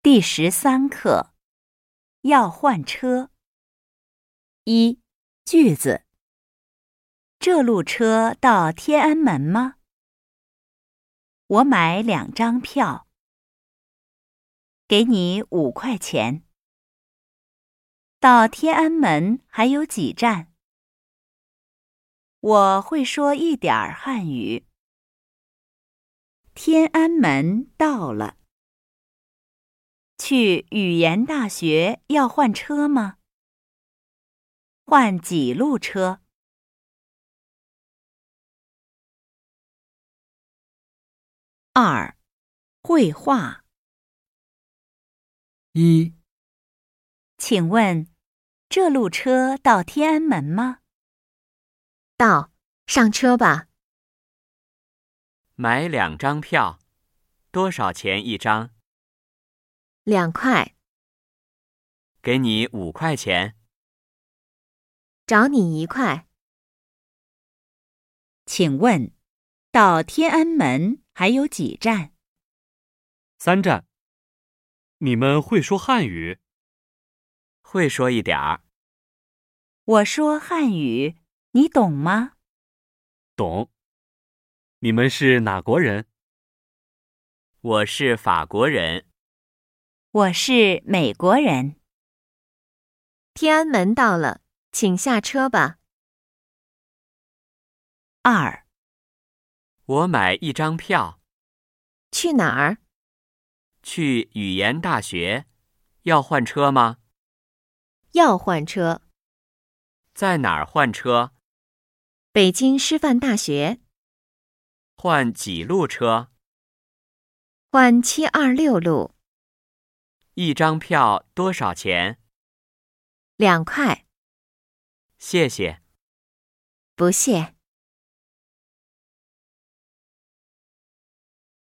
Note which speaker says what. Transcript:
Speaker 1: 第13课要换车。一、句子：这路车到天安门吗？我买2张票。给你5块钱。到天安门还有几站？我会说一点儿汉语。天安门到了。去语言大学要换车吗？换几路车？2、绘画。
Speaker 2: 一、
Speaker 1: 请问，这路车到天安门吗？
Speaker 3: 到，上车吧。
Speaker 4: 买2张票，多少钱一张
Speaker 3: 2块。
Speaker 4: 给你5块钱。
Speaker 3: 找你1块。
Speaker 1: 请问，到天安门还有几站
Speaker 2: 3站。你们会说汉语？
Speaker 4: 会说一点儿。
Speaker 1: 我说汉语，你懂吗？
Speaker 2: 懂。你们是哪国人？
Speaker 4: 我是法国人。
Speaker 1: 我是美国人。
Speaker 3: 天安门到了，请下车吧。
Speaker 1: 2、
Speaker 4: 我买1张票。
Speaker 3: 去哪儿？
Speaker 4: 去语言大学。要换车吗？
Speaker 3: 要换车。
Speaker 4: 在哪儿换车？
Speaker 3: 北京师范大学。
Speaker 4: 换几路车
Speaker 3: 换726路。
Speaker 4: ？1张票多少钱？
Speaker 3: 2块。
Speaker 4: 谢谢。
Speaker 3: 不谢。